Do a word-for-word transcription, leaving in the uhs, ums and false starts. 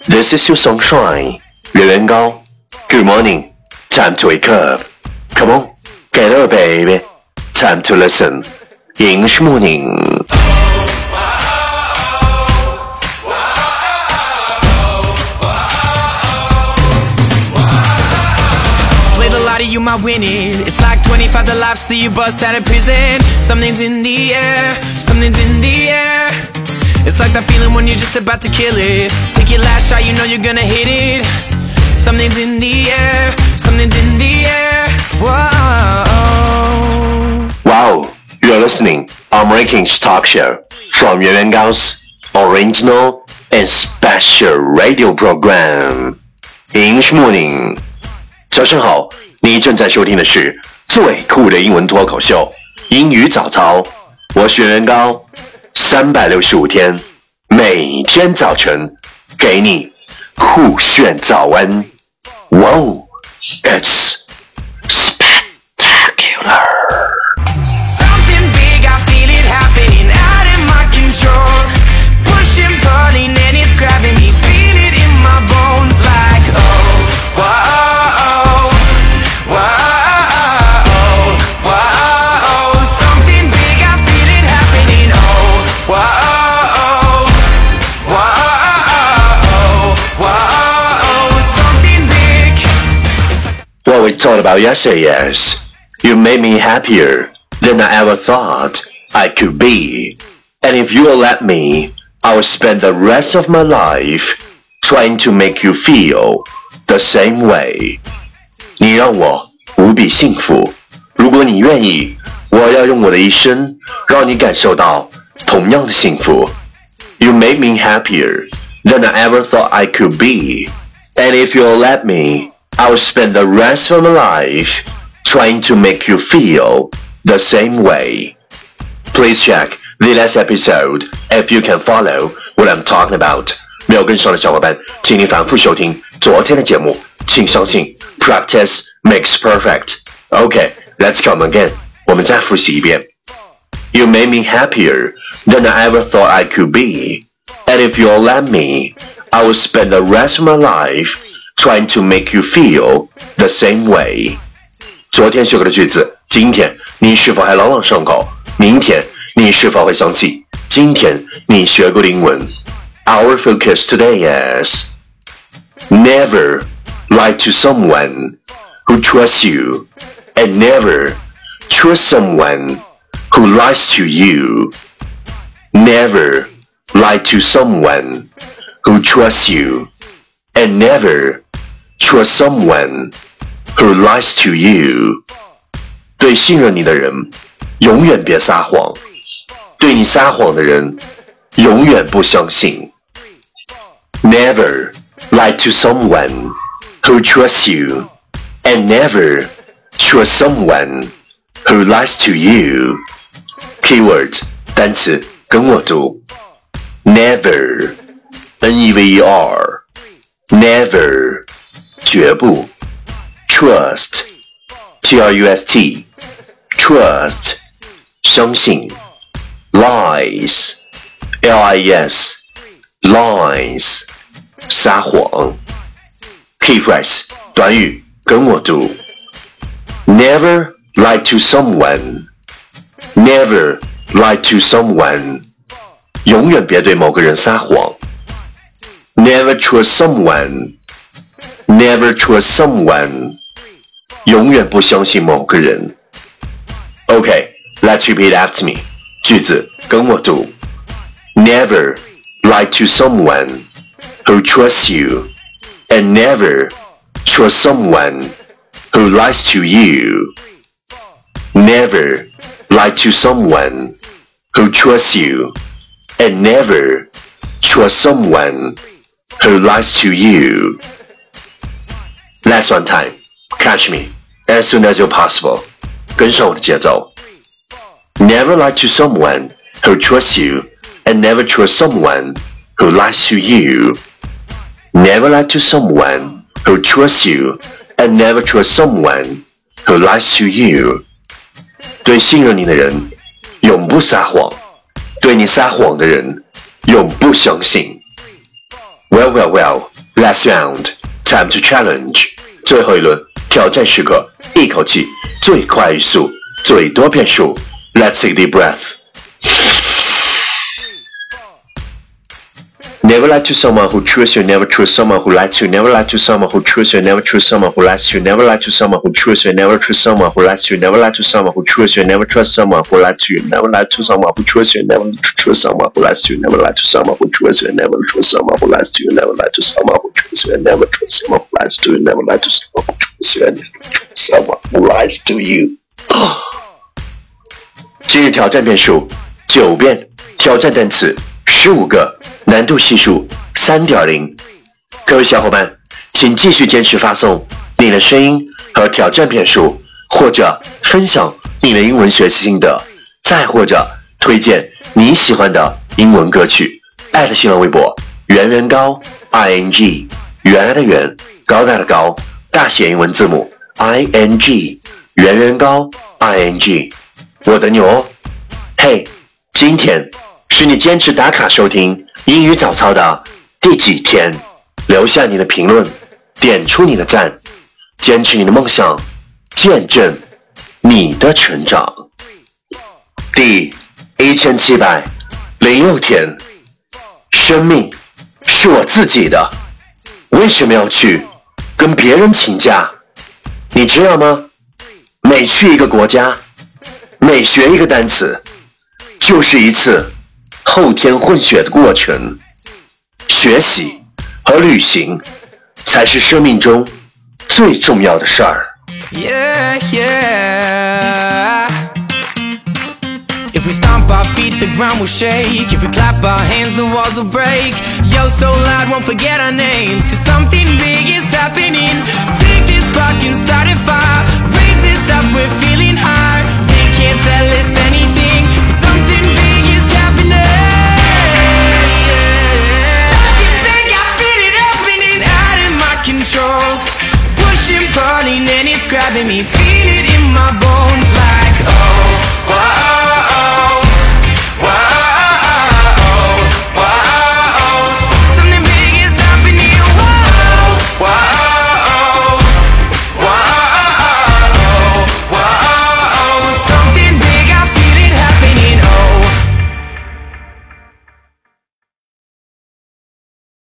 This is your sunshine, 圆圆高 Good morning, time to wake up. Come on, get up, baby. Time to listen. English morning. Played a lot of you might win it. It's like twenty-five the lives that you bust out of prison. Something's in the air, something's in the air. It's like that feeling when you're just about to kill it. Take your last shot, you know you're gonna hit it. Something's in the air, something's in the air. Whoa. Wow, you're listening on Rankings Talk Show from Yuan Yuan Gao's original and special radio program. English morning. 早上好，你正在收听的是最酷的英文脱口秀英语早操。我是袁元高，三百六十五天，每天早晨给你酷炫早安。Wow, it's spectacular. Something big, I feel it happening out in my control. Pushing, pulling, and it's grabbing me. Feel it in my bones like oh, whoa, whoa, whoa. Something big, I feel it happening. Oh, whoa, whoa, whoa. Something big. What we talked about yesterday is you made me happier than I ever thought I could be. And if you'll let me, I will spend the rest of my life trying to make you feel the same way. 你让我无比幸福，如果你愿意，我要用我的一生让你感受到同样的幸福。You made me happier than I ever thought I could be. And if you'll let me, I will spend the rest of my life trying to make you feel the same way. Please check the last episode if you can follow what I'm talking about. 没有跟上的小伙伴，请你反复收听昨天的节目。请相信 practice makes perfect. Okay, let's come again. 我们再复习一遍。You made me happier than I ever thought I could be. And if you'll let me, I will spend the rest of my life trying to make you feel the same way. 昨天学过的句子，今天你是否还朗朗上口？明天你是否会想起今天你学过的英文？ Our focus today is never lie to someone who trusts you and never trust someone who lies to you. Never lie to someone who trusts you and never trust someone who lies to you. 对信任你的人，永远别撒谎；对你撒谎的人，永远不相信。Never lie to someone who trusts you, and never trust someone who lies to you. Keywords 单词跟我读 Never N E V E R Never 绝不 Trust T R U S T Trust 相信 Lies L I E S Lies 撒谎 Key phrase 短语跟我读 Never lie to someone Never lie to someone 永远别对某个人撒谎 Never trust someone Never trust someone 永远不相信某个人 Okay, let's repeat after me 句子跟我读 Never lie to someone who trusts you and never trust someone who lies to you. Never lie to someone who trusts you and never trust someone who lies to you. Last one time, catch me as soon as you're possible. 跟上我的节奏 Never lie to someone who trusts you and never trust someone who lies to you. Never lie to someone who trusts you and never trust someone who lies to you. 对信任你的人，永不撒谎；对你撒谎的人，永不相信。Well, well, well. Last round, time to challenge. 最后一轮挑战时刻，一口气，最快语速，最多变数。Let's take a deep breath. Never lie to someone who trusts you, never trust someone who lies to you, never lie to someone who trusts you, never trust someone who lies to you, never lie to someone who trusts you, never trust someone who lies to you, never lie to someone who trusts you, never trust someone who lies to you, never lie to someone who trusts you, never trust someone who lies to you, never lie to someone who trusts you, never trust someone who lies to you, never lie to someone who trusts you, never trust someone who lies to you, never lie to someone who trusts you, never trust someone who lies to you. 今日挑战变数九遍，挑战单词十五个，难度系数 三点零。 各位小伙伴，请继续坚持发送你的声音和挑战变数，或者分享你的英文学习心得，再或者推荐你喜欢的英文歌曲。艾特新浪微博圆圆高 I N G， 原来的圆，高大的高，大写英文字母 I N G， 圆圆高 I N G。 我等你哦。嘿，今天是你坚持打卡收听英语早操的第几天？留下你的评论，点出你的赞，坚持你的梦想，见证你的成长。第一千七百零六天，生命是我自己的，为什么要去跟别人请假？你知道吗？每去一个国家，每学一个单词，就是一次后天混血的过程。学习和旅行才是生命中最重要的事儿。 Yeah, yeah. If we stomp our feet, the ground will shake. If we clap our hands, the walls will break. Yo, so loud, won't forget our names. Cause something big is happening. Take this spark and start a fire. Raise this up, we're feeling high. They can't tell us anything. Something big is happening. Control, pushing, pulling, and it's grabbing me. Feel it in my bones like, oh, oh.